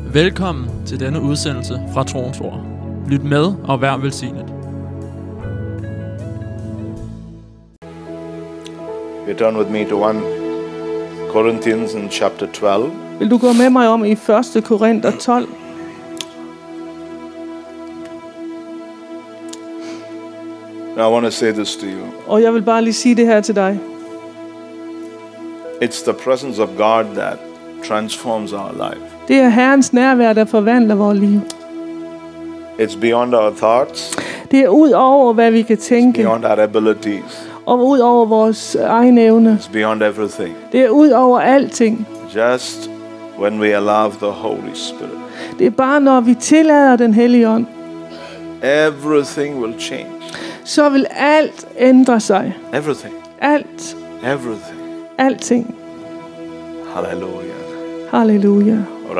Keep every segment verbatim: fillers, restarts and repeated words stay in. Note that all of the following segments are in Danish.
Velkommen til denne udsendelse fra Troens Ord. Lyt med og vær velsignet. You turn with me to First Corinthians in chapter twelve. Vil du gå med mig om i første Korinther tolv? Now I want to say this to you. Og jeg vil bare lige sige det her til dig. It's the presence of God that transforms our life. Det er Herrens nærvær, der forvandler vores liv. It's beyond our thoughts. Det er ud over, hvad vi kan tænke. Beyond our abilities. Og ud over vores egen evne. It's beyond everything. Det er ud over alting. Just when we allow the Holy Spirit. Det er bare, når vi tillader den hellige ånd. Everything will change. Så vil alt ændre sig. Everything. Alt. Everything. Alting. Hallelujah. Halleluja.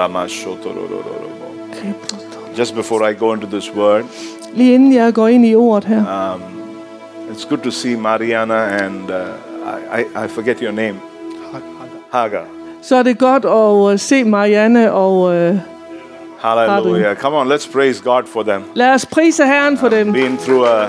Just before I go into this word, Lige inden jeg går ind i ordet her. um, it's good to see Mariana and uh, I, I, I forget your name. Hagar. Så er det godt at uh, se Marianne og uh, Hallelujah. Come on, let's praise God for them. lad os prise Herren for dem. Been through a,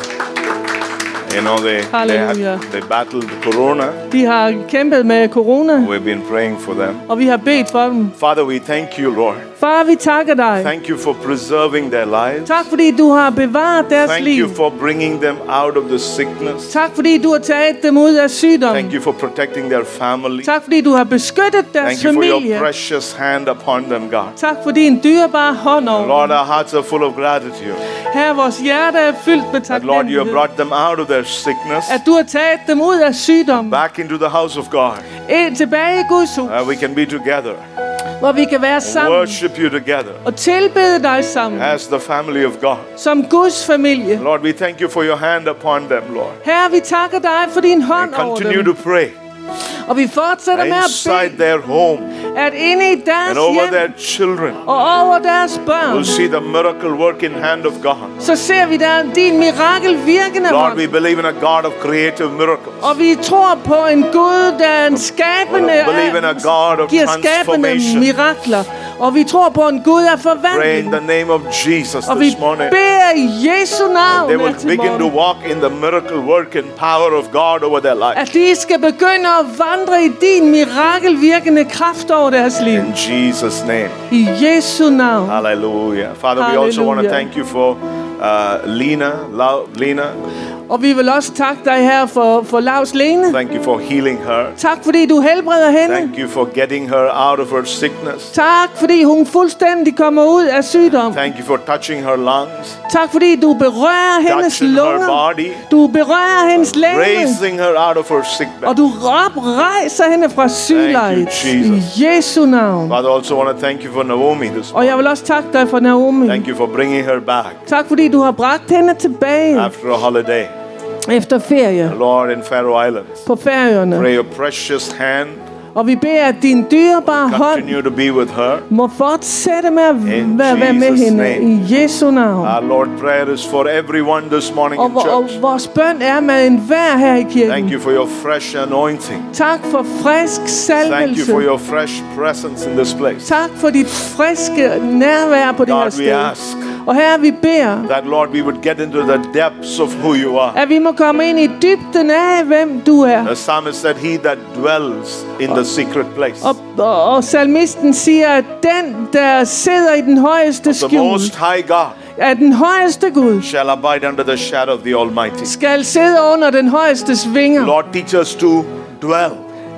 you know, they, they, Hallelujah. had, they battled corona. De har kæmpet med corona, We've been praying for them. og vi har bedt for dem. Father, we thank you, Lord. Far, vi takker dig. Thank you for preserving their lives. Tak fordi du har bevaret deres Thank liv. you for bringing them out of the sickness. Tak fordi du har taget dem ud af sygdom. Thank you for protecting their family. Tak fordi du har beskyttet deres Thank you for familie. your precious hand upon them, God. Tak for din dyrebare hånd over. Lord, our hearts are full of gratitude. Her vores hjerte er fyldt med That, Lord, you have taknemmelighed. brought them out of their sickness, At du har taget dem ud af sygdom. back into the house of God. Ind tilbage i Guds hus, Uh, we can be together, hvor vi kan være sammen worship you together og tilbede dig sammen as the family of God. som Guds familie. Lord, we thank you for your hand upon them, Lord. Herre, vi takker dig for din hånd We over continue dem. to pray Og vi fortsætter med at inside bede, their home at inde i deres and over hjem their children. og over deres børn, We'll see the miracle working hand of God. så ser vi der din mirakel virkende Lord, hånd. we believe in a God of creative miracles. Og vi tror på en Gud, der er en skabende, We believe in a God of giver skabende transformation. mirakler. Og vi tror på en Gud af Pray in forvandling. the name of Jesus Og vi this morning. beder i Jesu navn They her will til begin to morgen, walk in the miracle work and power of God over their life. at de skal begynde at vandre i din mirakelvirkende kraft over deres liv. In Jesus' name. I Jesu navn. Hallelujah. Father, we also want to Hallelujah. thank you for uh, Lena. Lau- Lena, Og vi vil også takke dig her for, for Lars Lene. thank you for healing her. Tak fordi du helbreder hende. Thank you for getting her out of her sickness. Tak fordi hun fuldstændig kommer ud af sygdom. Thank you for touching her lungs, Tak fordi du berører hendes touching her lunger. body, Du berører hendes læge. raising her out of her sick bed. Og du oprejser hende fra sygelejet. Thank you, Jesus. I Jesu navn. Father, I also want to thank you for Naomi this Og jeg vil også takke dig for Naomi. Thank you for bringing her back Tak fordi du har bragt hende tilbage after a holiday. efter ferie Lord, in Faroe Islands. på Færøerne. Pray your precious hand Og vi beder, at din dyrebare hånd continue to be with her. må fortsætte med at In være være med Jesus' hende. name. I Jesu navn. Our Lord, prayer is for everyone this morning Og, in vor- og church. vores bøn er med enhver her i Thank kirken. you for your fresh anointing. Tak for frisk Thank you salvelse. for your fresh presence in this place. Tak for dit friske nærvær på det her God, we sted. ask Og her vi beder, that, Lord, we would get into the depths of who you are. at vi må komme ind i dybden af, hvem du er. The psalmist said, he that dwells in the secret place Og, og, og salmisten siger, at den, der sidder i den højeste of the skjul, most high God af den højeste Gud, shall abide under the shadow of the Almighty. skal sidde under den højestes vinger. Lord, teach us to dwell.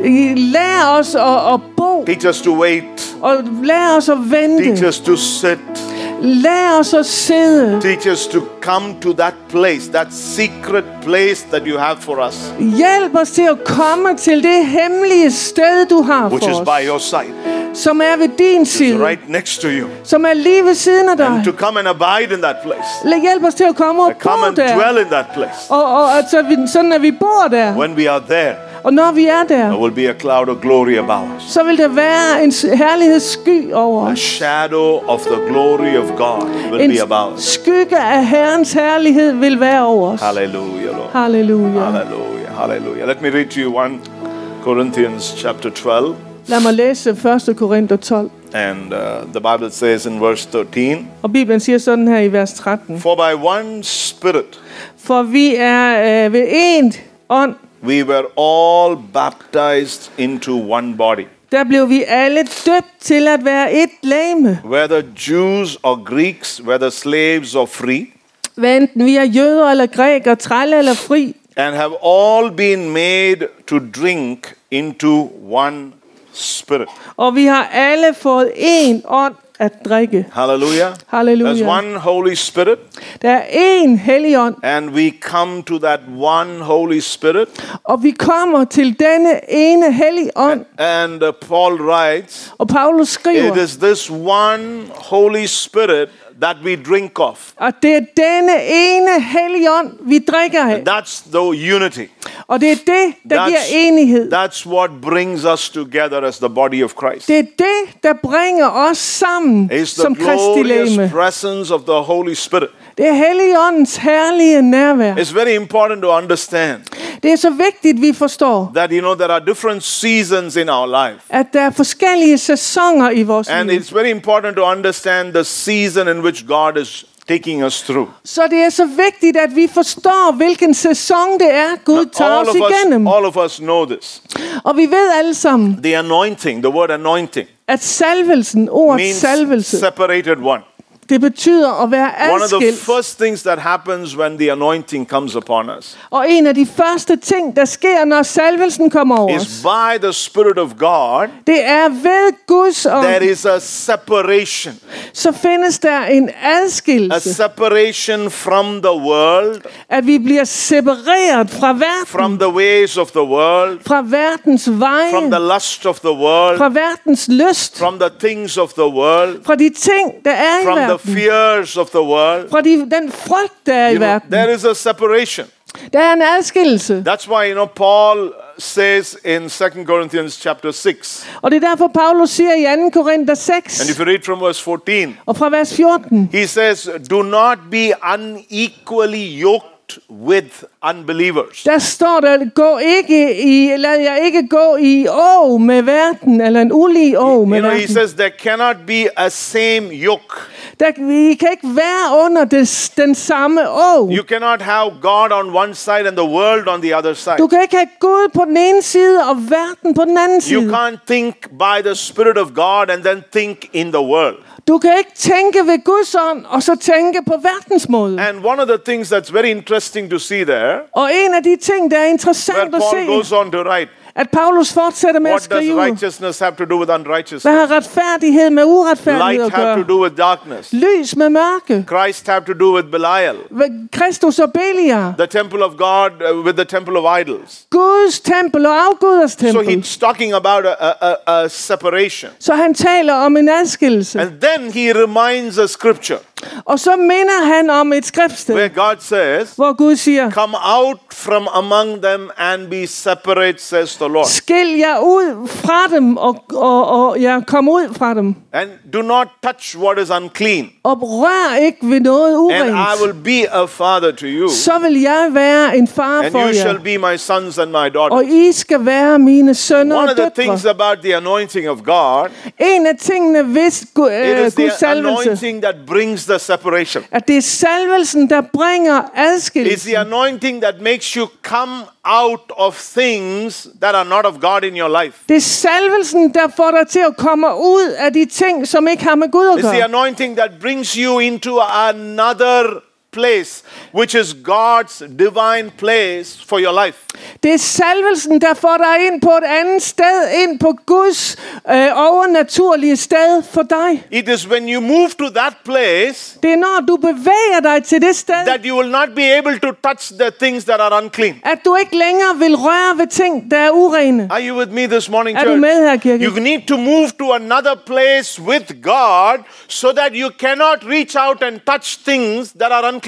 Lær os at, at bo, Teach us to wait. og lær os at Teach vente. us to sit. Lær os at sidde. Teach us to come to that place, that secret place that you have for us, Hjælp os til at komme til det hemmelige sted, du har which is for by os, your side, som er ved din side, right next to you. som er lige ved siden af dig. And to come and abide in that place. Lad hjælp os til at komme og To come bo and der. dwell in that place. Og, og at så vi, sådan at vi bor der. When we are there, Og når vi er der, there will be a cloud of glory about us. så vil der være en s- herlighedssky over A os. shadow of the glory of God will En be about us. skygge af Herrens herlighed vil være over os. Hallelujah, Lord. Halleluja. Hallelujah, hallelujah. Let me read to you First Corinthians chapter twelve. Lad mig læse første Korinther tolv. And uh, the Bible says in verse thirteen, Og Bibelen siger sådan her i vers tretten. for by one Spirit For vi er øh, ved én ånd, we were all baptized into one body, der blev vi alle døbt til at være et legeme. whether Jews or Greeks, whether slaves or free, Hvad enten vi er jøder eller grækere, trælle eller fri. and have all been made to drink into one Spirit. Og vi har alle fået én ånd at drikke. Hallelujah. There's Halleluja. one Holy Spirit, Der er én helligånd, and we come to that one Holy Spirit. og vi kommer til denne ene helligånd. And uh, Paul writes, Og Paulus it skriver, is this one Holy Spirit that we drink of. at det er denne ene helligånd, vi drikker af. That's the unity. Og det er det, der That's- giver enighed. That's what brings us together as the body of Christ. Det er det, der bringer os sammen It's the som Kristi glorious legeme. presence of the Holy Spirit. Det er Helligåndens herlige nærvær. It's very important to understand Det er så vigtigt, vi forstår, that, you know, there are different seasons in our life. at der er forskellige sæsoner i vores And liv. it's very important to understand the season in which God is taking us through. Så det er så vigtigt, at vi forstår, hvilken sæson det er, Gud tager All os of us, igennem. all of us know this. Og vi ved alle sammen, The anointing, the word anointing, at salvelsen, ordet means salvelse, separated one. det betyder at være One of the adskilt. first things that happens when the anointing comes upon us Og en af de første ting, der sker, når salvelsen kommer over is os, by the Spirit of God, det er ved Guds ånd, there is a separation. så findes der en A adskillelse. separation from the world, At vi bliver separeret fra from verden, the ways of the world, fra verdens veje, from the lust of the world, fra verdens lyst, from the things of the world, fra de ting, der er i from the verden, fears of the world. fra de, den frygt, der er You i know, verden. there is a separation. Der er en adskillelse. That's why, you know, Paul says in Second Corinthians chapter six, Og det er derfor, Paulus siger i anden Korinther and seks, if you read from verse fourteen, og fra vers fjorten, he says, do not be unequally yoked with unbelievers. der står der, gå ikke i, lad jer ikke gå i å med verden, eller en ulige å med You know, he verden. says there cannot be a same yoke. Der, vi kan ikke være under det, den samme å. You cannot have God on one side and the world on the other side. Du kan ikke have Gud på den ene side og verden på den anden You side. can't think by the Spirit of God and then think in the world. Du kan ikke tænke ved Guds ånd og så tænke på verdens måde. And one of the things that's very interesting to see there, Og en af de ting, der er where interessant at Paul goes se, on to write, at Paulus fortsætter med at what does skrive, righteousness have to do with hvad unrighteousness? har retfærdighed med uretfærdighed Light at have to gøre? do with darkness. Lys med mørke. Christ have to do with Belial. Hvad- Kristus og Beliar. The temple of God uh, with the temple of idols. Guds tempel og afguders So tempel. he's talking about a, a, a, a separation. Så han taler om en adskillelse. And then he reminds a scripture Og så minder han om et skriftsted, where God says, hvor Gud siger, come out from among them and be separate, says the Lord. skil jer ud fra dem, og, og, og ja, kom ud fra dem. And do not touch what is unclean. Og rør ikke ved noget And I urent. will be a father to you. Så vil jeg være en far And for you jer. shall be my sons and my Og daughters. I skal være mine sønner One og of the things døtre. about the anointing of God, En af tingene ved Gu- it øh, is Guds the salvelse, anointing that brings the separation. at det er salvelsen, der bringer It's the adskillelse. anointing that makes you come out of things that are not of God in your life. Det er salvelsen, der får dig til at komme ud af de ting, som ikke har med Gud at It's the gøre. anointing that brings you into another place, which is God's divine place for your life. Det er salvelsen, der får dig ind på et andet sted, ind på Guds øh, overnaturlige sted for dig. It is when you move to that place Det er når du bevæger dig til det sted, that you will not be able to touch the things that are unclean. at du ikke længere vil røre ved ting, der er urene. Are you with me this morning, Er du med her, kirke? church? You need to move to another place with God so that you cannot reach out and touch things that are unclean.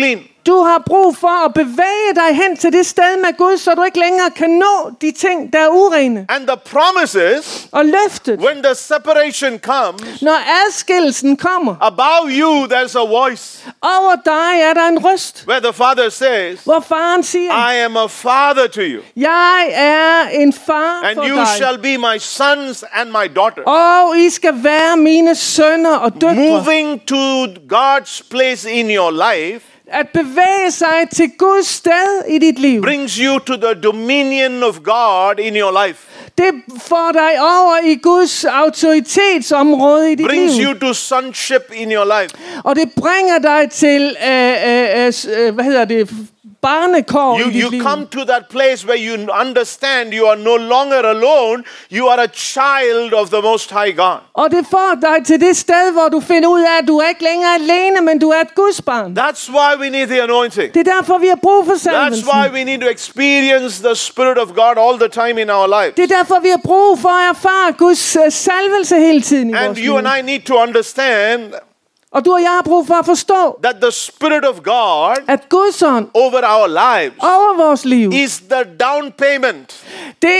Du har brug for at bevæge dig hen til det sted med Gud, så du ikke længere kan nå de ting, der er urene. And the promise is, Og løftet, when the separation comes, når adskillelsen kommer, above you there's a voice over dig er der en røst, where the Father says, hvor faren siger, I am a father to you, jeg er en far and for you dig, shall be my sons and my daughters. og I skal være mine sønner og døtre. Moving to God's place in your life At bevæge sig til Guds sted i dit liv, brings you to the dominion of God in your life. det får dig over i Guds autoritetsområde i dit Brings liv. you to sonship in your life. Og det bringer dig til, øh, øh, øh, hvad hedder det, barnekår You, i dit you liv. come to that place where you understand you are no longer alone. You are a child of the Most High God. Og det får dig til det sted, hvor du finder ud af, at du er ikke længere alene, men du er et Guds barn. That's why we need the anointing. Det er derfor, vi har brug for That's salvelsen. why we need to experience the Spirit of God all the time in our life. Det er derfor, vi har brug for at erfare Guds øh, salvelse hele tiden i And vores you liv. and I need to understand Og du og jeg har brug for at forstå, that the Spirit of God at Guds ånd over our lives over vores liv, is the down payment, det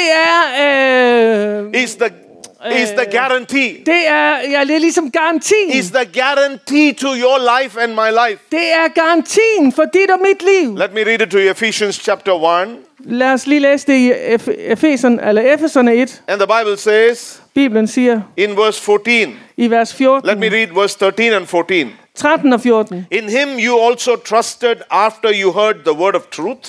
er, øh, is the is the guarantee, det er, ja, det er ligesom garantien. is the guarantee to your life and my life. Det er garantien for dit og mit liv. Let me read it to you, Ephesians chapter one. Lad os lige læse det i Efeserne, eller Efeserne et. And the Bible says Bibelen siger in verse fourteen, i vers let fjorten, me read verse thirteen and fourteen. tretten og fjorten. In him you also trusted after you heard the word of truth,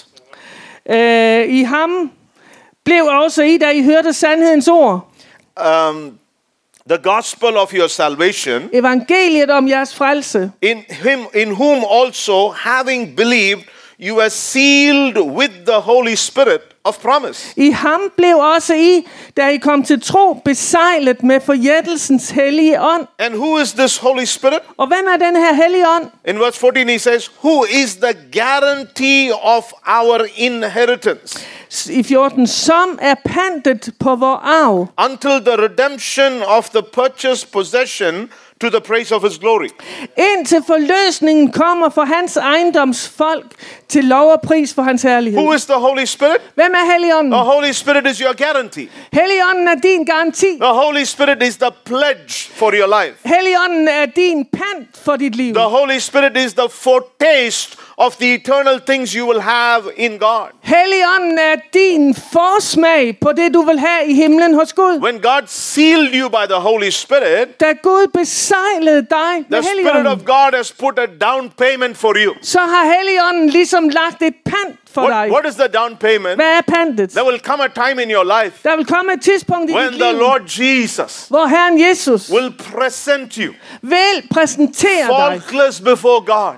Øh, I ham blev også I, da I hørte sandhedens ord, um, the gospel of your salvation, evangeliet om jeres frelse. in him in whom also having believed you are sealed with the Holy Spirit of promise. I ham blev også I, da I kom til tro, besejlet med forjættelsens hellige ånd. And who is this Holy Spirit? Og hvem er den her hellige ånd? In verse fourteen he says, who is the guarantee of our inheritance I fjorten, som er pantet på vor arv, until the redemption of the purchased possession to the praise of his glory. indtil forløsningen kommer for hans ejendomsfolk til lov og pris for hans herlighed. Who is the Holy Spirit? Hvem er Helligånden? The Holy Spirit is your guarantee. Helligånden er din garanti. The Holy Spirit is the pledge for your life. Helligånden er din pant for dit liv. The Holy Spirit is the foretaste of the eternal things you will have in God. Helligånden er din forsmag på det, du vil have i himlen hos Gud. When God sealed you by the Holy Spirit, Da Gud besejlede dig med the Spirit Helligånden, of God has put a down payment for you. så har Helligånden ligesom lagt et pant for What, dig. what is the down payment? Hvad er pantet? There will come a time in your life Der vil komme et tidspunkt i when dit the liv, Lord Jesus hvor Herren Jesus will present you vil præsentere dig faultless before God.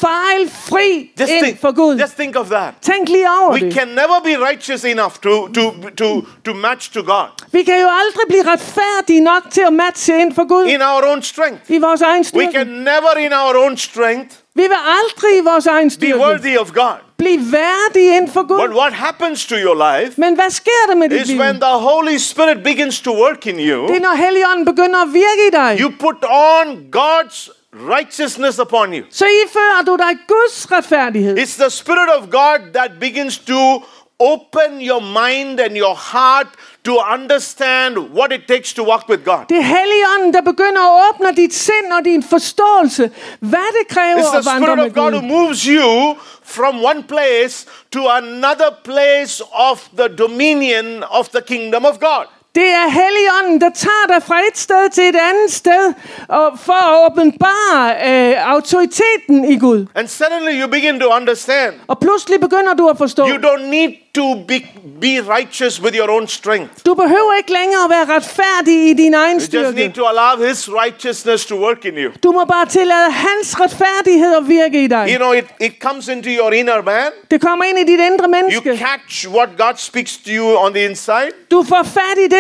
fejlfri Just ind think, for Gud. just think of that. Tænk lige over We det. can never be righteous enough to, to, to, to match to God Vi kan jo aldrig blive retfærdige nok til at matche ind for Gud in our own strength. i vores egen We styrke. can never in our own strength Vi vil aldrig i vores egen be styrke worthy of God. blive værdige ind for But Gud. what happens to your life Men hvad sker der med dit is liv? when the Holy Spirit begins to work in Det er, you, når Helligånden begynder at virke i dig. you put on God's righteousness upon you. Så ifører du dig Guds retfærdighed. It's the Spirit of God that begins to open your mind and your heart to understand what it takes to walk with God. Det er Helligånden, der begynder at åbne dit sind og din forståelse. Hvad det kræver It's the at vandre Spirit med of God who Gud. moves you from one place to another place of the dominion of the kingdom of God. Det er Helligånden, der tager dig fra et sted til et andet sted og for at åbenbare øh, autoriteten i Gud. And suddenly you begin to understand Og pludselig begynder du at forstå, you don't need to be, be righteous with your own strength. du behøver ikke længere at være retfærdig i din egen You just need styrke. to allow His righteousness to work in you. Du må bare tillade hans retfærdighed at virke i dig. You know, it, it comes into your inner man. Det kommer ind i dit indre You menneske. catch what God speaks to you on the inside. Du får fat i det,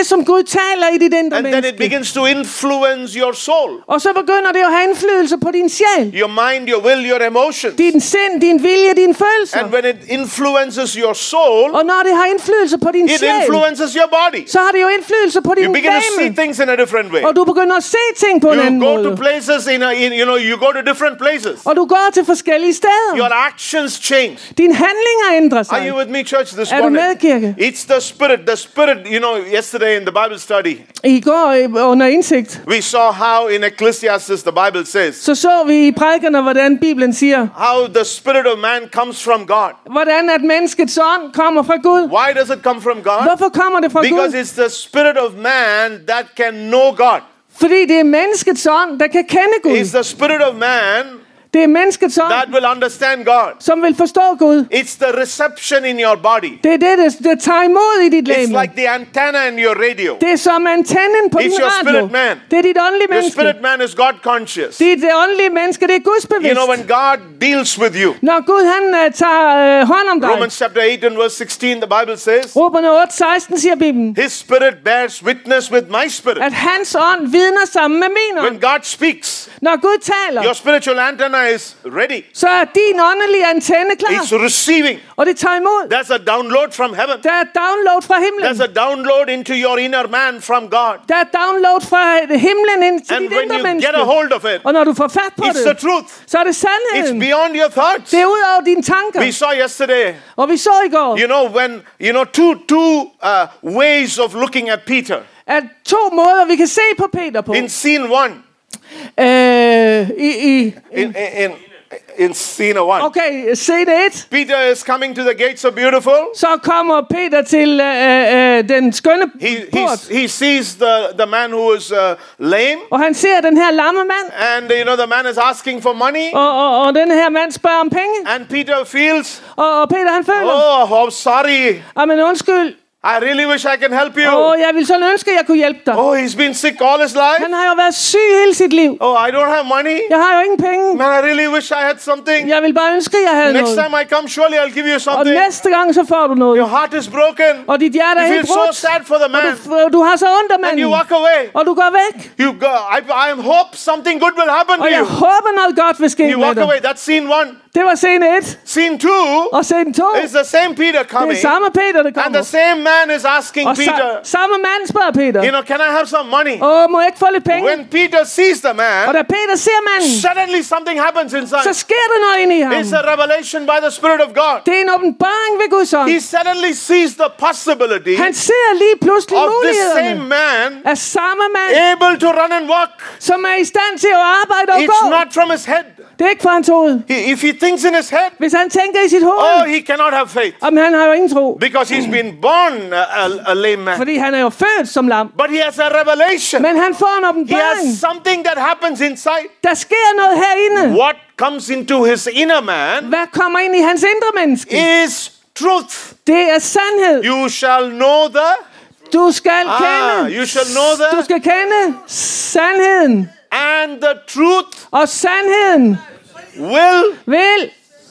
det, som Gud taler i dit indre And then it menneske. begins to influence your soul, Og så begynder det at have indflydelse på din sjæl. your mind, your will, your emotions. Din sind, din vilje, dine følelser. And when it influences your soul, Og når det har indflydelse på din it sjæl, influences your body. så har det jo indflydelse på din You begin to see legeme. things in a different way. Og du begynder at se ting på en You anden go to måde. places in, a, in you know, you go to different places. Og du går til forskellige steder. Your actions change. Dine handlinger ændrer Are sig. you with me, church, this Er du morning? med, kirke? It's the Spirit. The Spirit, you know, yesterday in the Bible study, I går øh, under indsigt, we saw how in Ecclesiastes the Bible says, så så vi i prædikerne, hvordan Bibelen siger, how the spirit of man comes from God. hvordan at menneskets ånd kommer fra Gud. Why does it come from God? Hvorfor kommer det fra Because Gud? it's the spirit of man that can know God. Fordi det er menneskets ånd, der kan kende Gud. It's the spirit of man Det er menneskets ånd, that will understand God. som vil forstå Gud. It's the reception in your body. Det er det, der, der tager imod i dit It's legeme. like the antenna in your radio. Det er som antennen på It's din your radio. spirit man. Det er dit åndelige Your menneske. spirit man is God conscious. Det er det åndelige menneske, det er Guds You bevidst. know, when God deals with you, Når Gud han uh, tager uh, hånd om dig. Romans chapter eight and verse sixteen, the Bible says, Romerne otte seksten siger Bibelen, His spirit bears witness with my spirit. at hans ånd vidner sammen med min When ånd. God speaks, Når Gud taler, your spiritual antenna is ready. så er din åndelige antenne klar. It's receiving. Og det tager imod. That's a download from heaven. Der er download fra himlen. That's a download into your inner man from God. Der er download fra himlen ind til And dit when indre you menneske. get a hold of it, Og når du får fat på it's the det, truth. så er det It's sandheden. beyond your thoughts. Det er ud over dine tanker. We saw yesterday, Og vi så i går, you know, when, you know, two, two uh, ways of looking at Peter. at to måder, vi kan se på Peter på. In scene one, Øh, i, i, in, in, in scene one, okay, scene et. Peter is coming to the gates of Beautiful. Så kommer Peter til øh, øh, den skønne He, port. he, he sees the, the man who is uh, lame. Og han ser den her lamme mand. And, you know, the man is asking for money. Og, og, og den her mand spørger om penge. And Peter feels, Og, og Peter han føler, oh, how sorry. ah, men undskyld. I really wish I can help you. Og jeg vil sådan ønske, at jeg kunne hjælpe dig. Oh, he's been sick all his life. Han har jo været syg hele sit liv. Oh, I don't have money. Jeg har jo ingen penge. Man, I really wish I had something. Jeg vil bare ønske, at jeg havde Next noget. time I come, surely I'll give you Og something. næste gang, så får du noget. Your heart is broken. Og dit hjerte er You helt feel so brudt. sad for the Og man. du, du har så ondt af And you manden. walk away. Og du går væk. You go, I, I hope something good will happen Og to jeg you. håber, noget godt vil ske You med walk dig. away. That's scene one. Det var scene et. Scene two Og scene to. is the same Peter Det coming. er samme Peter, der And kommer. the same man is asking Og Peter, sa- samme mand spørger Peter. you know, can I have some money? Åh, må jeg ikke få lidt penge? When Peter sees the Og man, da Peter ser manden, suddenly something happens så inside. sker der noget inde i ham. It's a revelation by the Spirit of God. Det er en åbenbaring ved Guds ånd. He suddenly sees the possibility Han ser lige pludselig of this same mulighederne man af samme mand, able to run and walk. som er i stand til at arbejde og gå. It's not from his head. Det er ikke fra hans hoved. He, if he thinks in his head, Hvis han tænker i sit oh, hoved, he cannot have faith jamen han har jo ingen tro. because he's been born a, a, a lame man. Fordi han er jo født som lam. But he has a revelation. Men han får en He åbenbaring. has something that happens inside. Der sker noget herinde. What comes into his inner man Hvad kommer ind i hans indre menneske? is truth. Det er sandhed. You shall know the Du skal Ah, kende. you shall know the- Du skal kende sandheden. and the truth Og sandheden will vil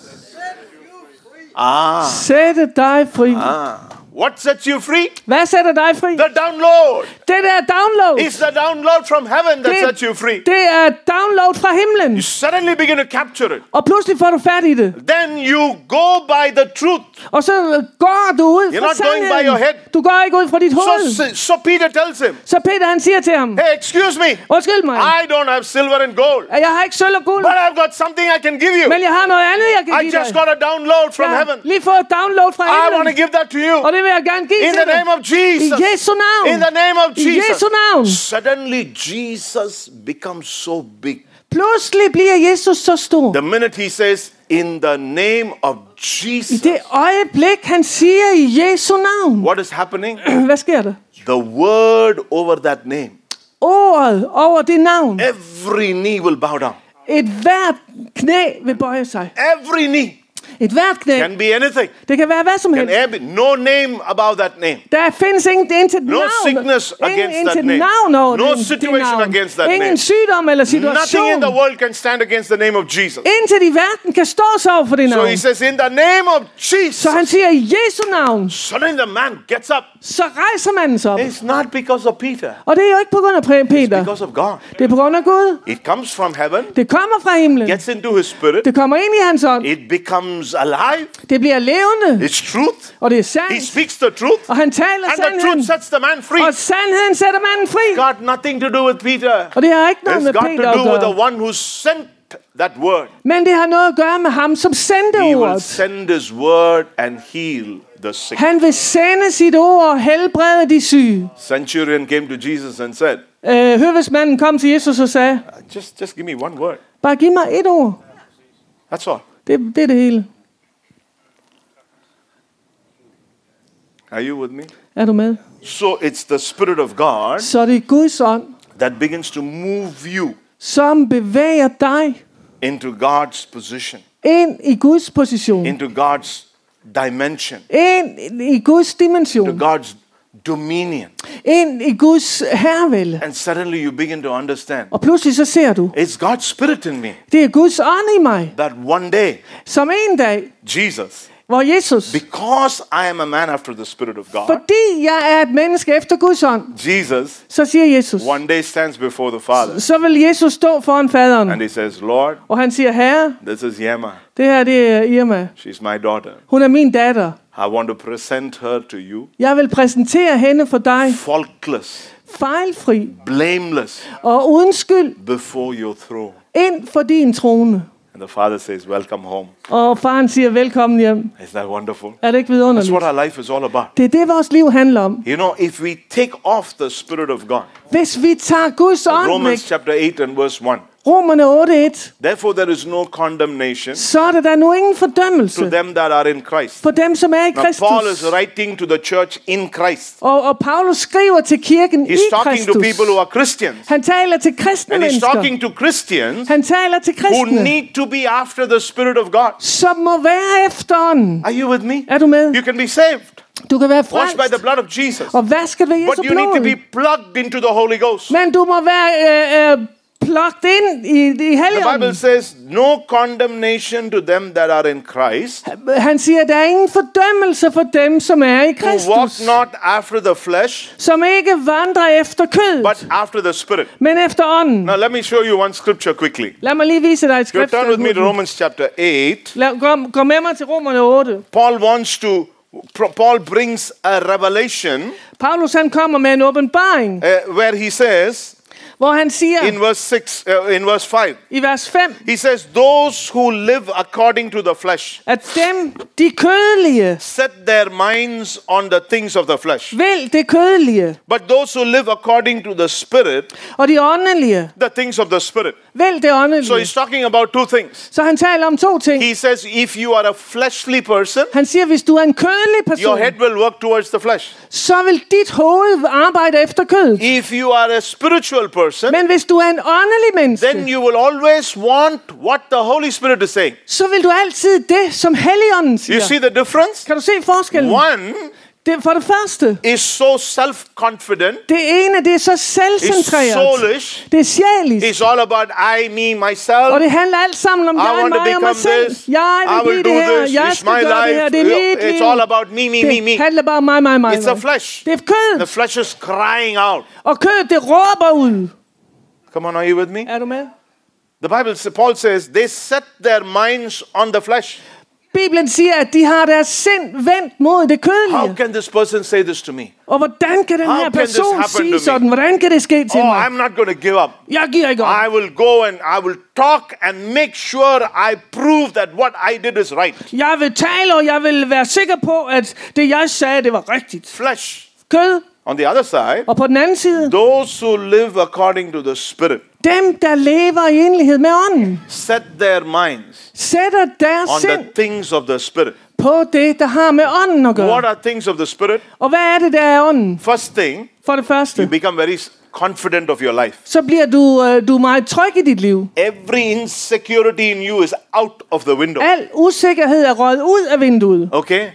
ah, sætte dig fri. ah. What sets you free? Hvad sætter dig fri? The download. Det der download. It's the download from heaven that Det- sets you free. Det er download fra himlen. You suddenly begin to capture it. Og pludselig får du fat i det. Then you go by the truth. Og så går du ud You're fra not going by your head. sandheden. Du går ikke ud fra dit hoved. So, so Peter tells him, Så Peter han siger til ham, hey, excuse me, undskyld mig, I don't have silver and gold, at jeg har ikke sølv og guld, but I've got something I can give you. men jeg har noget andet, jeg kan I give just dig. got a download from Jeg har heaven. lige fået et download fra I want to himlen, give that to you. og det vil jeg gerne give In til the name dig. of Jesus. I Jesu navn. In the name of I Jesus. Jesu navn. Suddenly Jesus becomes so big. Pludselig bliver Jesus så stor. The minute he says, in the name of I Jesus, det øjeblik, han siger i Jesu navn. what is happening? Hvad sker der? The word over that name, Ordet over det navn. every knee will bow down. Et hvert knæ vil bøje sig. Every knee Et hvert knæ. can be anything. Det kan være hvad som Can helst. ever be no name about that name. Der findes ingen intet No navn. sickness Ingen against that intet name. navn over No den- situation det navn. against that Ingen name. sygdom eller Nothing in situation. the world can stand against the name of Jesus. Intet i verden kan stå sig over for det So navn. he says, in the name of Jesus. Så han siger i Jesu navn. Suddenly the man gets up. så rejser manden sig op. It's not because of Peter. Og det er jo ikke på grund af Pre- It's Peter. because of God. Det er på grund af Gud. It comes from heaven, Det kommer fra himlen. gets into his spirit. Det kommer ind i hans ånd. It becomes alive. Det bliver levende. It's truth. Og det er He sandt. speaks the truth. Og han taler And the truth sandheden. sets the man free. Og sandheden sætter manden fri. Got nothing to do with Peter. Og det har ikke noget It's med got Peter to at do with the gøre. one who sent that word. Men det har noget at gøre med ham, som sendte He will ordet. send his word and heal the sick. Han vil sende sit ord og helbrede de syge. Centurion came to Jesus and said, Øh, høvedsmanden kom til Jesus og sagde, just, just give me one word. bare giv mig et ord. That's all. Det, det er det hele. Are you with me? Er du med? So it's the Spirit of God Så det er Guds ånd, that begins to move you som bevæger dig into God's position, ind i Guds position. into God's dimension, Ind i Guds to dimension. God's dominion. Ind i Guds herrevælde. And suddenly you begin to understand, Og pludselig så ser du, it's God's Spirit in me. det er Guds ånd i mig. That one day, Som en dag, Jesus, hvor Jesus, because I am a man after the Spirit of God, fordi jeg er et menneske efter Guds ånd, Jesus så siger Jesus, one day stands before the Father så vil Jesus stå foran faderen. and he says, Lord, Og han siger, Herre, this is Yema. det her det er Irma. She's my daughter. Hun er min datter. I want to present her to you, Jeg vil præsentere hende for dig, faultless, fejlfri blameless, og uden skyld, before your throne. ind for din trone. And the Father says, welcome home. Og faren siger, velkommen hjem. Isn't that wonderful? Er det ikke That's vidunderligt? what our life is all about. Det er det, vores liv handler om. You know, if we take off the Spirit of God, Hvis vi tager Guds ånd væk, Romans chapter eight and verse one, Romerne otte et, therefore there is no condemnation så er der da nu ingen to fordømmelse them that are in Christ. for dem, som er i Now Paul is Kristus. writing to the church in Christ. Og, og Paulus skriver til kirken i He's talking to Kristus. people who are Christians. Han taler til kristne And he's mennesker. talking to Christians Han taler til who kristne, need to be after the Spirit of God. som må være efter ånden. Are you with me? Er du med? You can be saved, Du kan være washed by the frelst blood of Jesus. og vasket ved Jesu But you need to be blod. plugged into the Holy Ghost. Men du må være øh, øh, plugged ind i, i The Bible Helligånden. says, no condemnation to them that are in Christ, Han siger, der er ingen fordømmelse for dem, som er i who walk Kristus. not after the flesh, Som ikke vandrer efter kødet, but after the Spirit. men efter ånden. Now let me show you one scripture quickly. Lad mig lige vise dig et You turn with me to skrift. Romans chapter eight. Gå, gå med mig til Romerne otte. Paul wants to, Paul brings a revelation Paulus han kommer med en åbenbaring, uh, where he says, hvor han siger in verse six, uh, in verse five, i vers fem, he says, those who live according to the flesh at dem, de kødelige, set their minds on the things of the flesh. vil det kødelige, But those who live according to the Spirit, og de åndelige, the things of the Spirit. vil det So åndelige. he's talking about two things. Så han taler om to ting. He says, if you are a fleshly person, Han siger, hvis du er en kødelig your person, head will work towards the flesh. så vil dit hoved arbejde efter kødet. If you are a spiritual person, Men hvis du er en åndelig then menneske, you will always want what the Holy Spirit is saying. så vil du altid det, som Helligånden You siger. see the difference? Kan du se forskellen? One Det, for det første, is so self-confident, det ene, det er så is selvcentreret. soulish, Det er sjælisk. it's all about I, me, myself. Og det handler alt sammen om I jeg, want to mig og mig become selv. this. Jeg I vil will blive det do her. this. Jeg It's skal my gøre det her. life. Det er mit It's liv. all about me, me, me, Det me. handler bare om mig, mig, mig. It's the mig. flesh. Det er kødet. The flesh is crying out. Og kødet, det råber ud. Come on, are you with me? Er du med? The Bible, Paul says, they set their minds on the flesh. Bibelen siger, at de har deres sind vendt mod det How kødelige. can this person say this to me? Og hvordan kan den How her can this person happen to sige me? sådan? Hvordan kan det ske til Oh, mig? I'm not going to give up. Jeg giver ikke op. I will go and I will talk and make sure I prove that what I did is right. Jeg vil tale, og jeg vil være sikker på, at det jeg sagde, det var rigtigt. Flesh. Kød. On the other side, Og på den anden side, those who live according to the Spirit dem, der lever i enlighed med ånden, set their minds sætter deres on sind the things of the Spirit. på det, der har med ånden at What gøre. are things of the Spirit? Og hvad er det, der er ånden? First thing, For det første, you become very confident of your life. så bliver du, øh, du er meget tryg i dit liv. Every insecurity in you is out of the window. Al usikkerhed er røget ud af vinduet. Okay?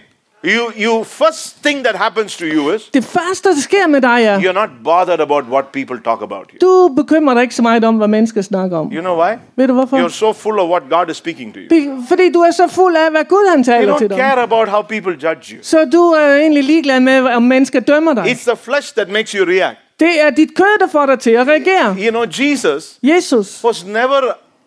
You, you first thing that happens to you is Det første, der sker med dig, er, you're not bothered about what people talk about you. du bekymrer dig ikke så meget om, hvad mennesker snakker om. You know why? Ved du hvorfor? You're so full of what God is speaking to you. Be- Fordi du er så fuld af, hvad Gud han You taler til don't dig. care about how people judge you. Så du er egentlig ligeglad med, om mennesker dømmer dig. It's the flesh that makes you react. Det er dit kød, der får dig til at reagere. You know, Jesus Jesus, was never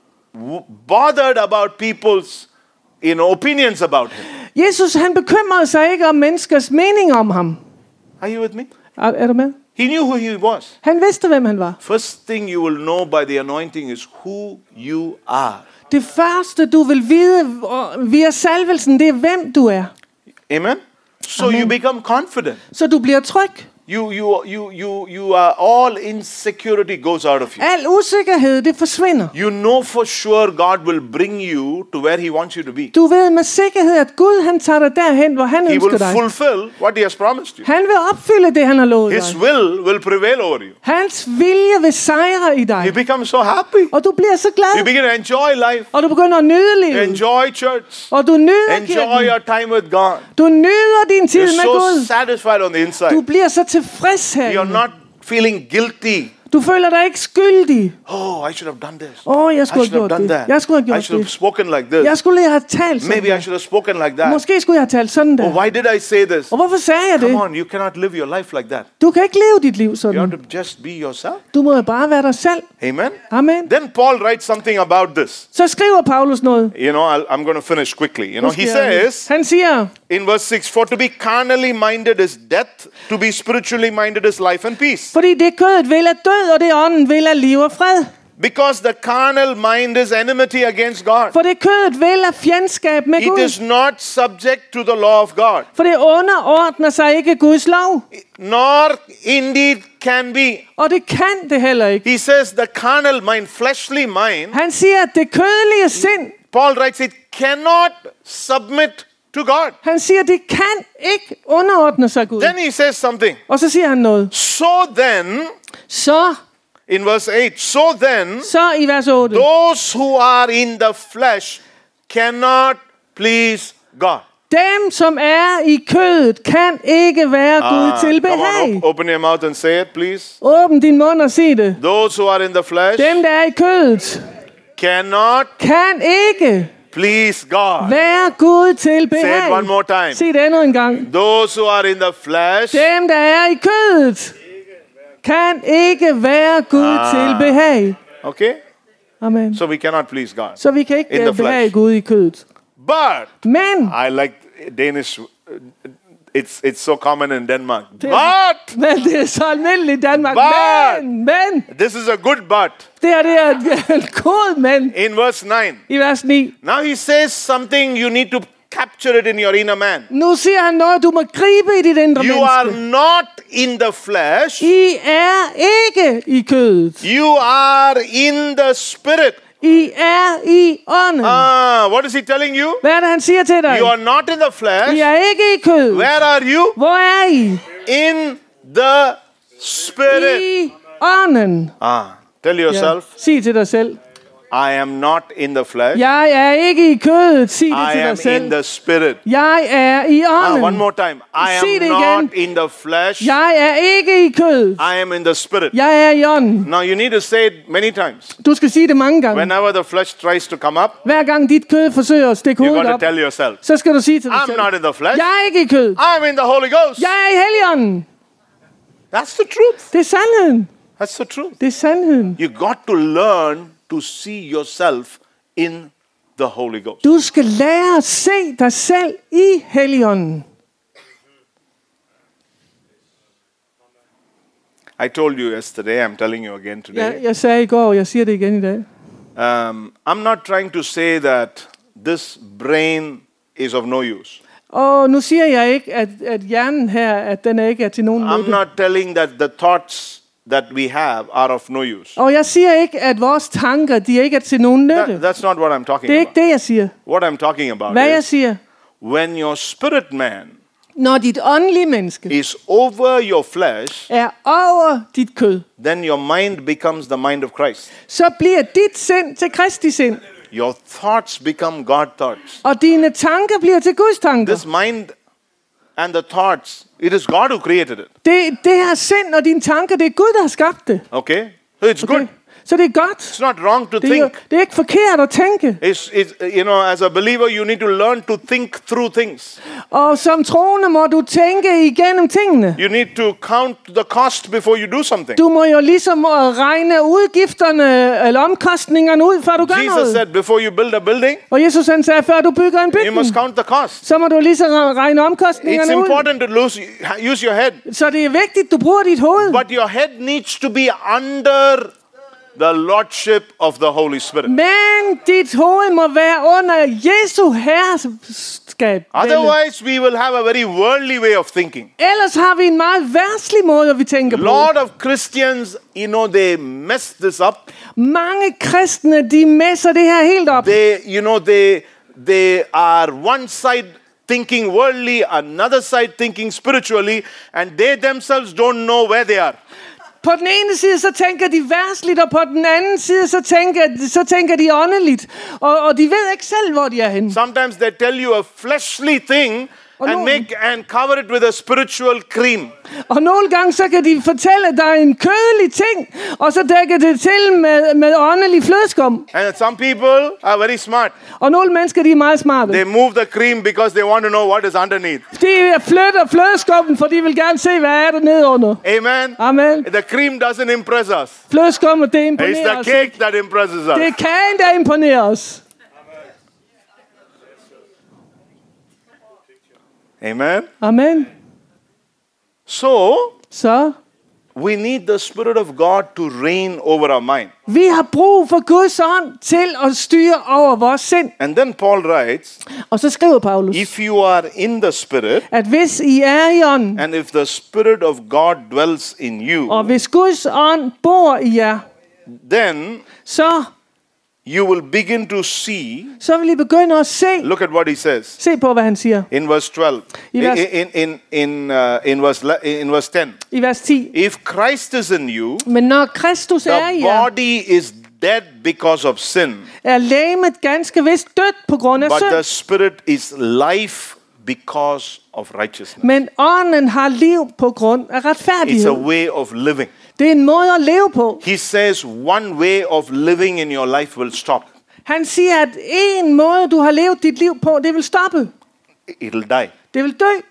w- bothered about people's, you know, opinions about him. Jesus han bekymrede sig ikke om menneskers mening om ham. Are you with me? Er, er du med? He knew who he was. Han vidste, hvem han var. First thing you will know by the anointing is who you are. Det første, du vil vide via salvelsen, det er, hvem du er. Amen? So Amen. you become confident. Så du bliver tryg. You, you, you, you, you are, all insecurity goes out of you. Al usikkerhed, det forsvinder. You know for sure God will bring you to where he wants you to be. Du ved med sikkerhed, at Gud han tager dig derhen, hvor han He ønsker will dig. fulfill what he has promised you. Han vil opfylde det, han har lovet His dig. will will prevail over you. Hans vilje vil sejre i dig. You become so happy. Og du bliver så You glad. begin to enjoy life. Og du begynder at nyde livet. Enjoy church. Og du nyder Enjoy kirken. your time with God. Du nyder din tid You're med so Gud. satisfied on the Du inside. bliver så tilfreds her. You're not feeling guilty. Du føler dig ikke skyldig. Oh, I should have done this. Åh, oh, jeg I skulle should have have gjort done det. that. Jeg skulle have I gjort should have det. spoken like this. Jeg skulle lige have talt sådan Maybe I der. should have spoken like that. Måske skulle jeg have talt sådan Oh, der. why did I say this? Og hvorfor sagde jeg det? Come on, you cannot live your life like that. Du kan ikke leve dit liv You have sådan. to just be yourself. Du må jo bare være dig selv. Amen. Amen. Then Paul writes something about this. Så skriver Paulus noget. You know, I'll, I'm going to finish quickly. You know, Nu he skal jeg- says Han siger, in verse six, for to be carnally minded is death, to be spiritually minded is life and peace. fordi det kødet vil er død, og det ånden vil er liv og fred. Because the carnal mind is enmity against God. For det kødet vil er fjendskab med It Gud. is not subject to the law of God, For det underordner sig ikke Guds lov. nor indeed can be. Og det kan det heller ikke. He says the carnal mind, fleshly mind, Han siger, at det kødelige sind, Paul writes, it cannot submit to God. han siger, at det kan ikke underordne sig Gud. Then he says something. Og så siger han noget. So then, Så, in verse eight, so then, så i vers otte. those who are in the flesh cannot please God. Dem, som er i kødet, kan ikke være Gud Ah, til come on, behag. op- open your mouth and say it, please. Åbn din mund og sig det. Those who are in the flesh Dem, der er i kødet, cannot kan ikke please God. være Gud til Say it behag. one more time. Sig det endnu en gang. Those who are in the flesh Dem, der er i kødet, kan ikke være Gud Ah. til behag. Okay? Amen. So we cannot please God. Så vi kan ikke In the øh, behage flesh. Gud i kødet. But Men, I like Danish. uh, It's it's so common in Denmark. Det- But men det er så almindeligt i Danmark. But- Men, men, this is a good but. det her det er en god men In verse nine. i vers ni. Now he says something you need to capture it in your inner man. Nu siger han noget, du må gribe i dit indre You are menneske. not in the flesh. I er ikke i kødet. You are in the spirit. I er i ånden. Ah, what is he telling you? Hvad er det, han siger til dig? You are not in the flesh. I er ikke i kødet. Where are you? Hvor er I? In the spirit. I ånden. Ah, tell yourself, Sig til dig selv. I am not in the flesh. Jeg er ikke i kødet. Sig det I til am dig selv. in the spirit. Jeg er i Ah, ånden. one more time. I Sig am det not igen. in the flesh. Jeg er ikke i kødet. I am in the spirit. Jeg er i ånden. Now you need to say it many times. Du skal sige det mange gange. Whenever the flesh tries to come up, Hver gang dit kød forsøger at stikke you hovedet got to op, tell yourself, så skal du sige til dig I'm selv. not in the flesh. Jeg er ikke i kødet. I'm in the Holy Ghost. Jeg er i Helligånden. That's the truth. Det er sandheden. That's the truth. Det er sandheden. You got to learn to see yourself in the Holy Ghost. Du skal lære at se dig selv i Helligånden. I told you yesterday, I'm telling you again today. Jeg, jeg sagde i går, og jeg siger det igen i dag. Um, I'm not trying to say that this brain is of no use. Og nu siger jeg ikke, at, at hjernen her, at den ikke er til nogen I'm nytte. not telling that the thoughts that we have are of no use. Og jeg siger ikke, at vores tanker, de ikke er til nogen nytte. That, that's not what I'm talking Det er ikke about. det, jeg siger. What I'm talking about Hvad jeg is siger, when your spirit man når dit åndelige menneske is over your flesh, er over dit kød, then your mind becomes the mind of Christ. så bliver dit sind til Kristi sind. Your thoughts become God thoughts. Og dine tanker bliver til Guds tanker. This mind and the thoughts, it is God who created it. Det, det her sind og dine tanker, det er Gud, der har skabt det. Okay? So it's Okay? good. Så det er godt. It's not wrong to Det er, think. det er ikke forkert at tænke. It's, it's, you know, as a believer, you need to learn to think through things. Og som troende må du tænke igennem tingene. You need to count the cost before you do something. Du må jo ligesom øh, regne udgifterne eller omkostningerne ud, før du gør Jesus noget. said, before you build a building, Og Jesus han sagde, før du bygger en you bygning, must count the cost. så må du lige så regne It's omkostningerne ud. important to lose, use your head, Så det er vigtigt, du bruger dit hoved. but your head needs to be under the lordship of the Holy Spirit. Men dit hoved må være under Jesu herskab. Otherwise, we will have a very worldly way of thinking. Ellers har vi en meget værslig måde, vi tænker A på. lot of Christians, you know, they mess this up. Mange kristne, de messer det her helt op. They, you know, they they are one side thinking worldly, another side thinking spiritually, and they themselves don't know where they are. På den ene side, så tænker de værsligt, og på den anden side, så tænker, så tænker de åndeligt. Og, og de ved ikke selv, hvor de er henne. Sometimes they tell you a fleshly thing Oh, and no. make and cover it with a spiritual cream. Og nogle gange, så kan de fortælle dig en kødelig ting, og så dækker det til med, med åndelig flødeskum. And some people are very smart. Og nogle mennesker, de er meget smarte. They move the cream because they want to know what is underneath. De flytter flødeskummen, for de vil gerne se, hvad er der nede under. Amen. Amen. The cream doesn't impress us. Flødeskummen, det It's imponerer the os. cake that impresses Det er us. kagen, der imponerer os. Amen. Amen. So, Så we need the Spirit of God to reign over our mind. vi har brug for Guds ånd til at styre over vores sind. And then Paul writes, Og så skriver Paulus, if you are in the Spirit, at hvis I er i ånden, and if the Spirit of God dwells in you, og hvis Guds ånd bor i jer, then så, you will begin to see. så vil I begynde at se. Look at what he says Se på, hvad han siger in verse twelve. I vers- In in in uh, in verse le- in verse ten. i vers ti. If Christ is in you, Men når Kristus er i the jer, body is dead because of sin, er legemet ganske vist dødt på grund af but the synd. Spirit is life because of righteousness. Men ånden har liv på grund af It's a retfærdighed. way of living. Det er en måde at leve på. He says one way of living in your life will stop. Han siger, at en måde, du har levet dit liv på, det vil stoppe. It'll die. Det vil dø.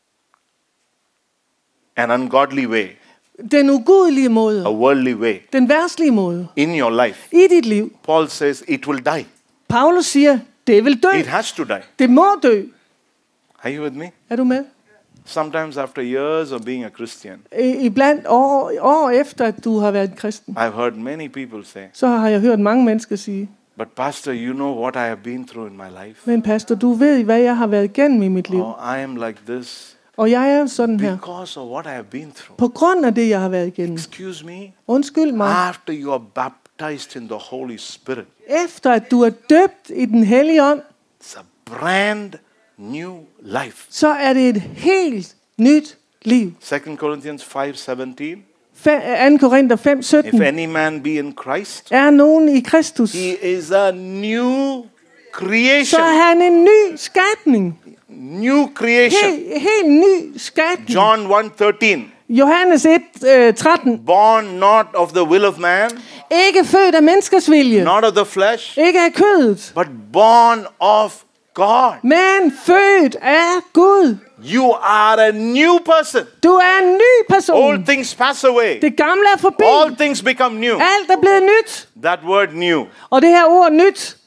An ungodly way, Den ugudelige måde. a worldly way Den værslige måde. in your life. I dit liv. Paul says it will die. Paulus siger, det vil dø. It has to die. Det må dø. Are you with me? Er du med? Sometimes after years of being a Christian, I, iblandt år, år efter, at du har været kristen, I've heard many people say, så har jeg hørt mange mennesker sige, but pastor, you know what I have been through in my life. men pastor, du ved, hvad jeg har været igennem i mit liv. Oh, I am like this Og jeg er sådan her. because of what I have been through. På grund af det, jeg har været igennem. Excuse me? Undskyld mig. After you are baptized in the Holy Spirit, Efter at du er døbt i den hellige ånd, it's a brand new life. så er det et helt nyt liv. Second Corinthians five seventeen. anden Korinther fem If sytten. any man be in Christ, Er nogen i Kristus, he is a new så creation. er han en ny skabning. New creation. Helt, helt ny skabning. John one thirteen. Johannes et tretten. Born not of the will of man, Ikke født af menneskers vilje. not of the flesh, Ikke af kødet. but born of God. Men født af Gud. You are a new person. Du er en ny person. All things pass away. Det gamle er forbi. All things become new. Alt er blevet nyt. That word new, Og det her ord nyt,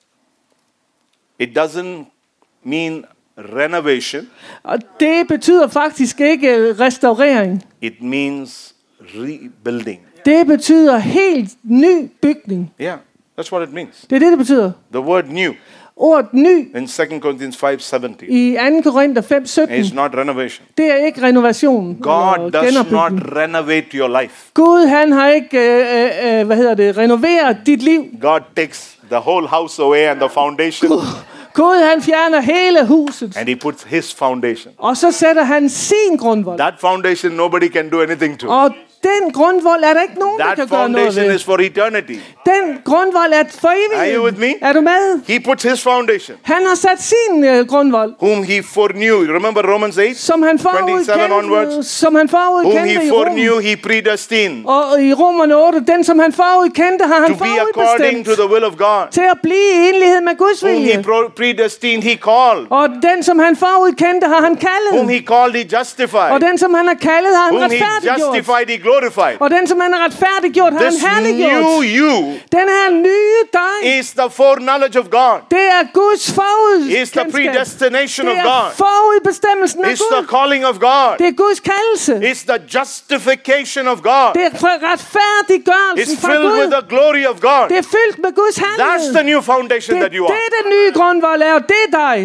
it doesn't mean renovation. og det betyder faktisk ikke restaurering. It means rebuilding. Det betyder helt ny bygning. Yeah, that's what it means. Det er det, det betyder. The word new Ordet ny in Second Corinthians five seventeen i anden Korinther fem sytten, is not renovation. det er ikke renovation God eller does not genopbygning. renovate your life. Gud, han har ikke, øh, øh, hvad hedder det, renoveret dit liv. God takes the whole house away and the foundation, Gud, han fjerner hele huset, and he puts his foundation. og så sætter han sin grundvold. That foundation nobody can do anything to. Og den grundvold er der ikke nogen, der That kan gøre noget foundation ved. is for eternity. Den grundvold er for Are you with evigt. me? Er du med? He puts his foundation, Han har sat sin uh, grundvold, whom he foreknew. Remember Romans eight? som han twenty-seven forud onwards. kendte, som han forud Whom kendte he i Rom. foreknew, he predestined Og i Romerne otte, den som han forud kendte, har han to be according to forudbestemt the will of God. til at blive i enlighed med Guds Whom he vilje. pro- predestined, he called. Og den som han forud kendte, har han Whom kaldet. he called, he justified. Og den som han har kaldet, har han Whom he retfærdiggjort. justified, he glorified. Og den som han har retfærdiggjort, har han This new herliggjort. you Den her nye dig, is the foreknowledge of God. det er Guds Is the forudkendskab. predestination Det of er God. forudbestemmelsen af It's the Gud. calling of God. Det er Guds kaldelse. It's the justification of God. Det er fra- retfærdiggørelsen It's fra filled with Gud. the glory of God. Det er fyldt med Guds That's the herlighed. new foundation Det that you er are. det, den nye grundvold er, og det er dig.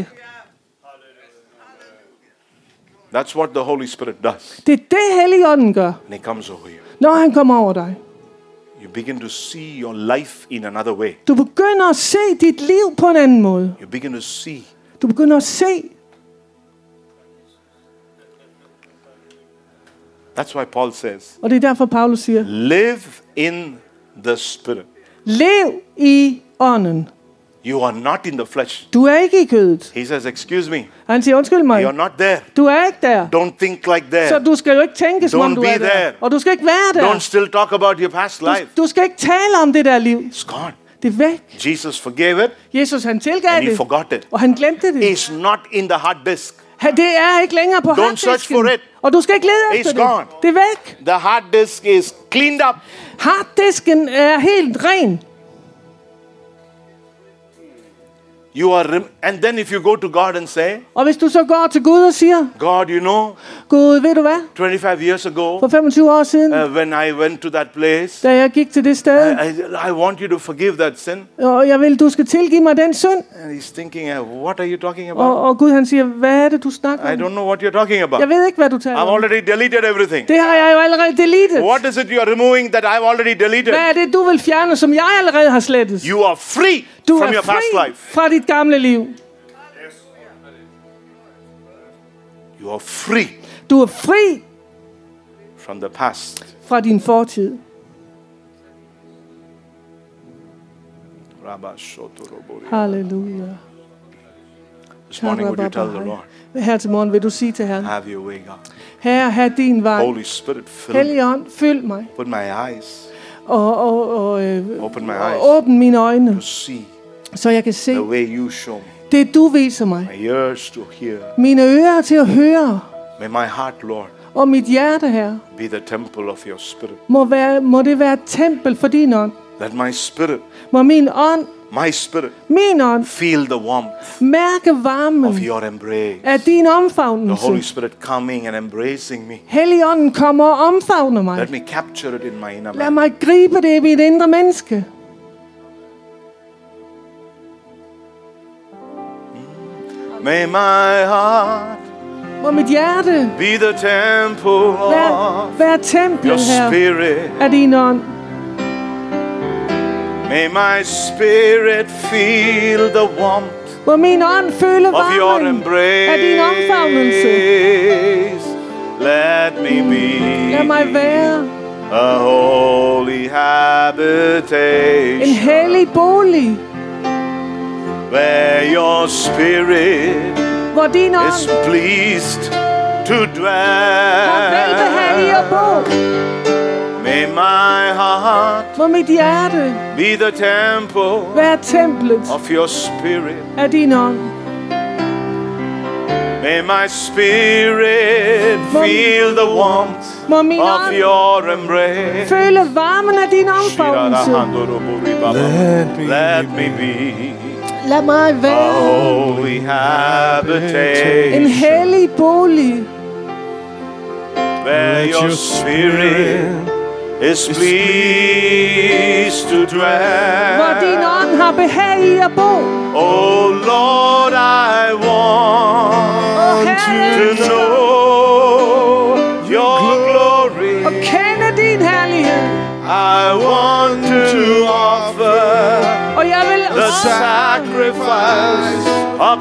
That's what the Holy Spirit does. Det er det, Helligånden gør, When he comes over you, når han kommer over dig. you begin to see your life in another way. Du begynder at se dit liv på en anden måde. You begin to see. Du begynder at se. That's why Paul says, Og det er derfor, Paulus siger, live in the Spirit. lev i ånden. You are not in the flesh. Du er ikke i kødet. He says, excuse me, Han siger, undskyld mig, you're not there. du er ikke der. Don't think like Så that. du skal jo ikke tænke, som om Don't du be er der. there. Og du skal ikke være Don't der. still talk about your past Du, life. du skal ikke tale om det der liv. It's gone. Det er væk. Jesus forgave it Jesus, han tilgav and he det, forgot it. og han glemte det. It's not in the hard disk. Han- Det er ikke længere på Don't search harddisken. for it. Og du skal ikke lede It's efter gone. det. Det er væk. The hard disk is cleaned up. Harddisken er helt ren. You are, rem- and then if you go to God and say, Og hvis du så går til Gud og siger, God, you know, Gud, ved du hvad? twenty-five years ago, For femogtyve år siden, uh, when I went to that place, da jeg gik til det sted, I, I, I want you to forgive that sin. og jeg vil, du skal tilgive mig den synd. And he's thinking, uh, what are you talking about? Og, og Gud han siger, hvad er det, du snakker I om? don't know what you're talking about. Jeg ved ikke, hvad du taler I've om. already deleted everything. Det har jeg jo allerede deleted. What is it you're removing that I've already deleted? Hvad er det, du vil fjerne, som jeg allerede har slettet? You are free Du from er your past fri life. fra dit gamle liv. You are free Du er fri from the past. fra din fortid. Halleluja. This morning, would you tell the Lord, Her til morgen vil du sige til Herren, have your way, God. Herre, have din vej. Holy Spirit, fill me. Helligånd, fyld mig. Open my eyes Og, og, og, øh, Open my og eyes. åbn mine øjne, to see så jeg kan se the way you show me. det, du viser mig. My ears to hear. Mine ører til at høre, May my heart, Lord, og mit hjerte, Herre, be the temple of your Spirit. må, være, må det være et tempel for din ånd. Let my spirit, Må min ånd, my spirit, min ånd, feel the warmth mærke varmen of your embrace. af din The Holy omfavnelse. Spirit coming and embracing me. Helligånden kommer og omfavner mig. Let me capture it in my inner Lad man. mig gribe det i mit indre menneske. May my heart Må mit hjerte be the temple være, of være your templet her spirit. af din ånd. May my spirit feel the warmth Må min ånd føle of your varmen af din omfavnelse. embrace. Let me be Lad mig være a holy en habitation hellig bolig, where your spirit hvor din is ånd pleased to har velbehag at dwell. bo. May my heart Må mit hjerte be the temple være templet of your spirit. af din ånd. May my spirit feel the warmth Må min of ånd your embrace. føle varmen af din omfavnelse. Let me be Lad mig a være holy en habitation hellig bolig, where your spirit is pleased to hvor din dwell. ånd har behag i at bo. Oh Lord, I want Herre, to know your glory. Og kende din herlighed. I want to offer Og jeg vil the ofre sacrifice of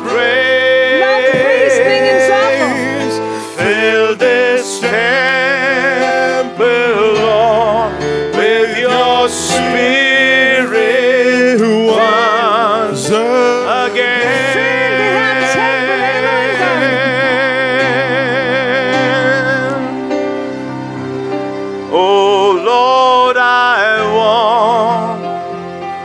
Lovprisningens offer. praise. Fill this temple, Lord.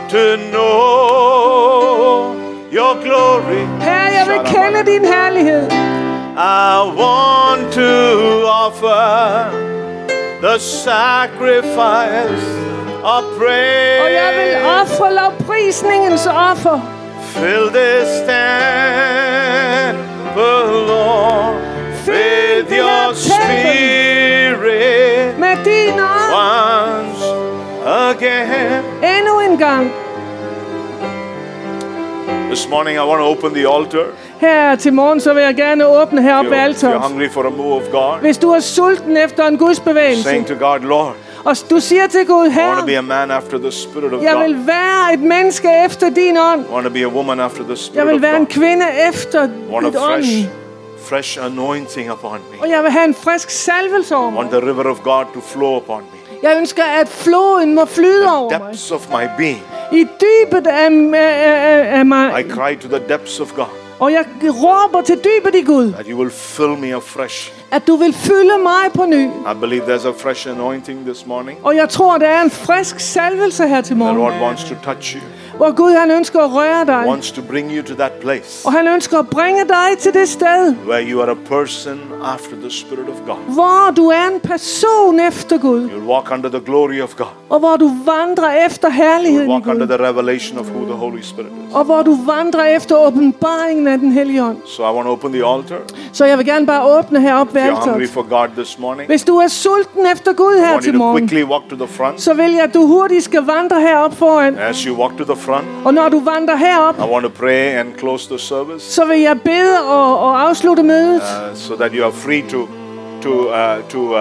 to know your glory. Herre, jeg vil kende din herlighed. I want to offer the sacrifice of praise. Og jeg vil ofre lovprisningens offer. Fill this temple, Lord, with your spirit Med din ånd. once again. Endnu en gang. This morning I want to open the altar. Her til morgen, så vil jeg gerne åbne If heroppe ved you're, if you're alteret. hungry for a move of God, Hvis du er sulten efter en Guds bevægelse, saying to God, Lord, og du siger til Gud, I want to be Herre, a man after the Spirit of jeg God. vil være et menneske efter din ånd. I want to be a woman after the Jeg Spirit vil of være en God. kvinde efter I want dit a fresh, ånd. fresh anointing upon me. Og jeg vil have en frisk salvelse over I want mig. the river of God to flow upon me. Jeg ønsker, at floden må flyde over mig. Depths of my being. I dybet af, af, af, af I mig. cry to the depths of God Og jeg råber til dybet i Gud, that you will fill me afresh. at du vil fylde mig på ny. I believe there's a fresh anointing this morning. Og jeg tror, der er en frisk salvelse her til The morgen, Lord wants to touch you, hvor Gud han ønsker at røre dig. wants to bring you to that place Og han ønsker at bringe dig til det sted, where you are a person after the Spirit of God. hvor du er en person efter Gud, You'll walk under the glory of God. og hvor du vandrer efter You'll herligheden i walk under Gud, the revelation of who the Holy Spirit is. og hvor du vandrer efter åbenbaringen af den hellige ånd. So I want to open the altar. Så jeg vil gerne bare åbne heroppe ved If you're hungry alteret. for God this morning, Hvis du er sulten efter Gud I her want you til to morgen, quickly walk to the front. så vil jeg, at du hurtigt skal vandre herop foran. As you walk to the front, Og når du vandrer herop, I want to pray and close the service så vil jeg bede og, og afslutte mødet, uh, so that you are free to to uh, to um,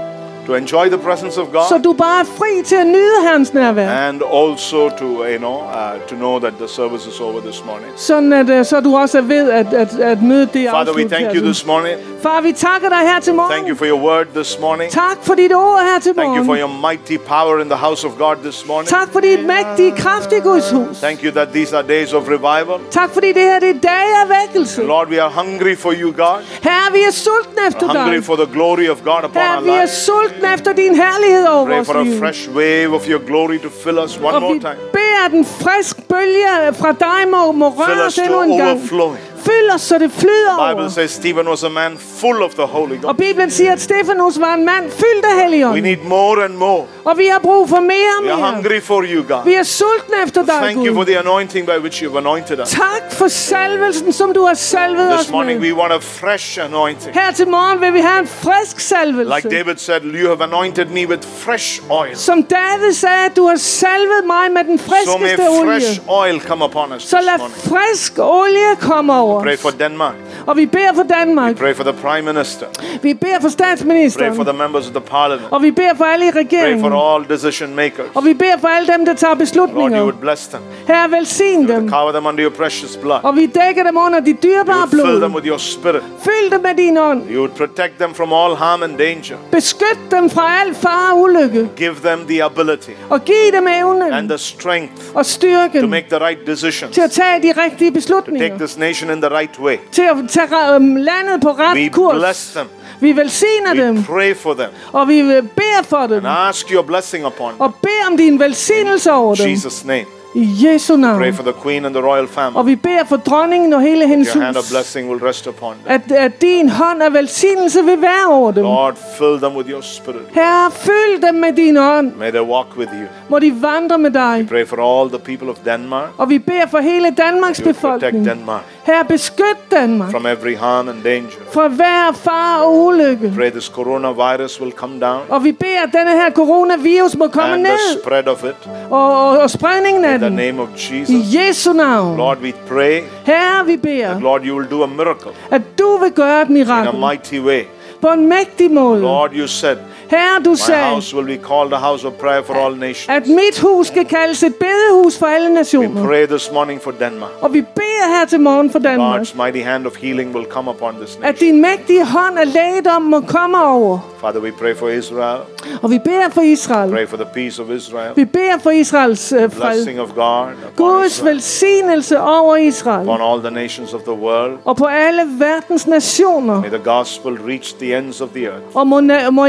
to enjoy the presence of så God, du bare er fri til at nyde Hans nærvær. and also to you know uh, to know that the service is over this morning. Sådan at øh, så du også ved, at, at, at mødet det er Father, we afsluttet thank you her. this morning. Far, vi takker dig her til Thank you morgen. for your word this morning. Tak for dit ord her til Thank you for morgen. your mighty power in the house of God this morning. Tak for dit mægtige kraft i Guds hus. Thank you that these are days of revival. Tak fordi det her det er dage af vækkelse. Lord, we are hungry for you, God. Herre, vi er sultne efter Hungry dig. for the glory of God upon Herre, our vi er lives. sultne efter din herlighed over Pray vores for a liv. fresh wave of your glory to fill us one Og more vi time. beder, at den frisk bølge fra dig må, må Fill røre us os to endnu en gang. overflowing. Fyld os, så det flyder The Bible over. says Stephen was a man full of the Holy Og Ghost. Bibelen siger, at Stefanus var en mand fyldt af We Helligånden. need more and more. Og vi har brug for mere We og are mere. hungry for you, God. Vi er sultne efter dig, Thank you for Gud. the anointing by which you've anointed us. Tak for salvelsen, som du har salvet This os morning med. we want a fresh anointing. Her til morgen vil vi have en frisk salvelse. Like David said, you have anointed me with fresh oil. Som David sagde, at du har salvet mig med den So may friskeste fresh olie. oil come upon us Så this lad morning. frisk olie komme over Pray os. for Denmark. Og vi beder for Danmark. Pray for the Prime Minister. Vi beder for Pray for statsministeren. the members of the Parliament. Og vi beder for alle i Pray regeringen. for all decision makers. Og vi beder for alle dem, der tager Lord, you beslutninger. would bless them. Herre, velsign dem. Cover them under your precious blood. Og vi dækker dem under dit You dyrebare would fill them blod. with your spirit. Fyld dem med din ånd. You would protect them from all harm and danger. Beskyt dem fra al fare og ulykke. Give them the ability Og giv dem and evnen the strength og to styrken make the right decisions. til at tage de rigtige Take beslutninger. this nation in the right way. Til at tage um, landet på We ret kurs. bless them. Vi velsigner We dem. pray for them. Og vi beder for dem. And ask your blessing upon them. Og beder om din velsignelse over In dem. Jesus' name. I Jesu navn. Pray for the Queen and the royal family. Og vi beder for dronningen og hele hendes Your hand of hus. blessing will rest upon them. At, at din hånd af velsignelse vil være over dem. Lord, fill them with your spirit. Herre, fyld dem med din ånd. May they walk with you. Må de vandre med dig. Pray for all the people of Denmark. Og vi beder for hele Danmarks You will protect befolkning. Denmark Herre, beskyt Danmark from every harm and danger. fra hver far og ulykke. Pray this coronavirus will come down Og vi beder, at denne her coronavirus må komme and the ned. spread of it. Og, og, og spredningen af In the den. name of I Jesus. Jesu navn. Lord, we pray Herre, vi that, beder, Lord, you will do a miracle at du vil gøre et in a mirakel mighty way. på en mægtig måde. Lord, you said, Herre, du my sagde, house will be called a house of prayer for all nations. at mit hus skal kaldes et bedehus for alle We nationer. pray this morning for Denmark. Og vi beder her til morgen for Danmark, God's mighty hand of healing will come upon this at nation. din mægtige hånd af lægedom må komme over. Father, we pray for Israel. Og vi beder for Israel. Pray for the peace of Israel. Vi beder for Israels øh, fred. Blessing of God upon Guds Israel, velsignelse over Israel. upon all the nations of the world. Og på alle verdens nationer. May the gospel reach the ends of the earth. Og må, na- må evangeliet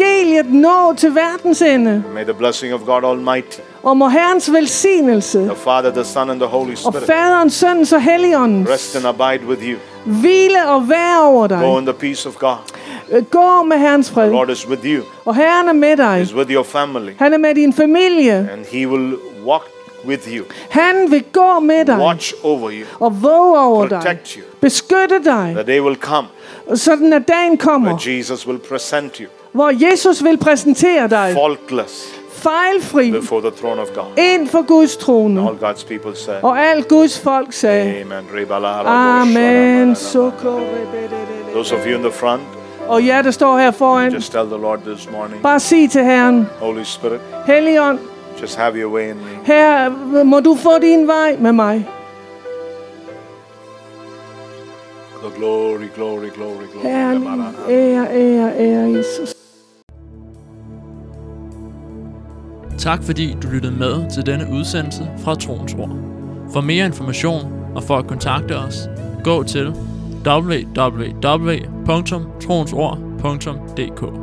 evangeliet nå til verdens ende. May the blessing of God Almighty, Og må Herrens velsignelse the Father, the Son, and the Holy og Spirit Faderens, Søndens og Helligåndens rest and abide with you. hvile og være over Go dig. in the peace of God. Gå med Herrens fred. The Lord is with you. Og Herren er med dig. He's with your family. Han er med din familie. And He will walk with you. Han vil gå med dig Watch over you. og våge over dig. Protect you. Beskytte dig. The day will come Sådan at dagen kommer, where Jesus will present you hvor Jesus vil præsentere dig faultless fejlfri before the throne of God. ind for Guds trone. All God's people say, Og alt Guds folk sagde, Amen. Amen. Those of you in the front, Og jer, der står her foran, just tell the Lord this morning, bare sig til Herren, Holy Spirit, Helligånd, just have your way in me. her må du få din vej med mig. The glory, glory, glory, glory. Herren, ære, ære, ære Jesus. Tak fordi du lyttede med til denne udsendelse fra Troens Ord. For mere information og for at kontakte os, gå til w w w punktum troensord punktum d k.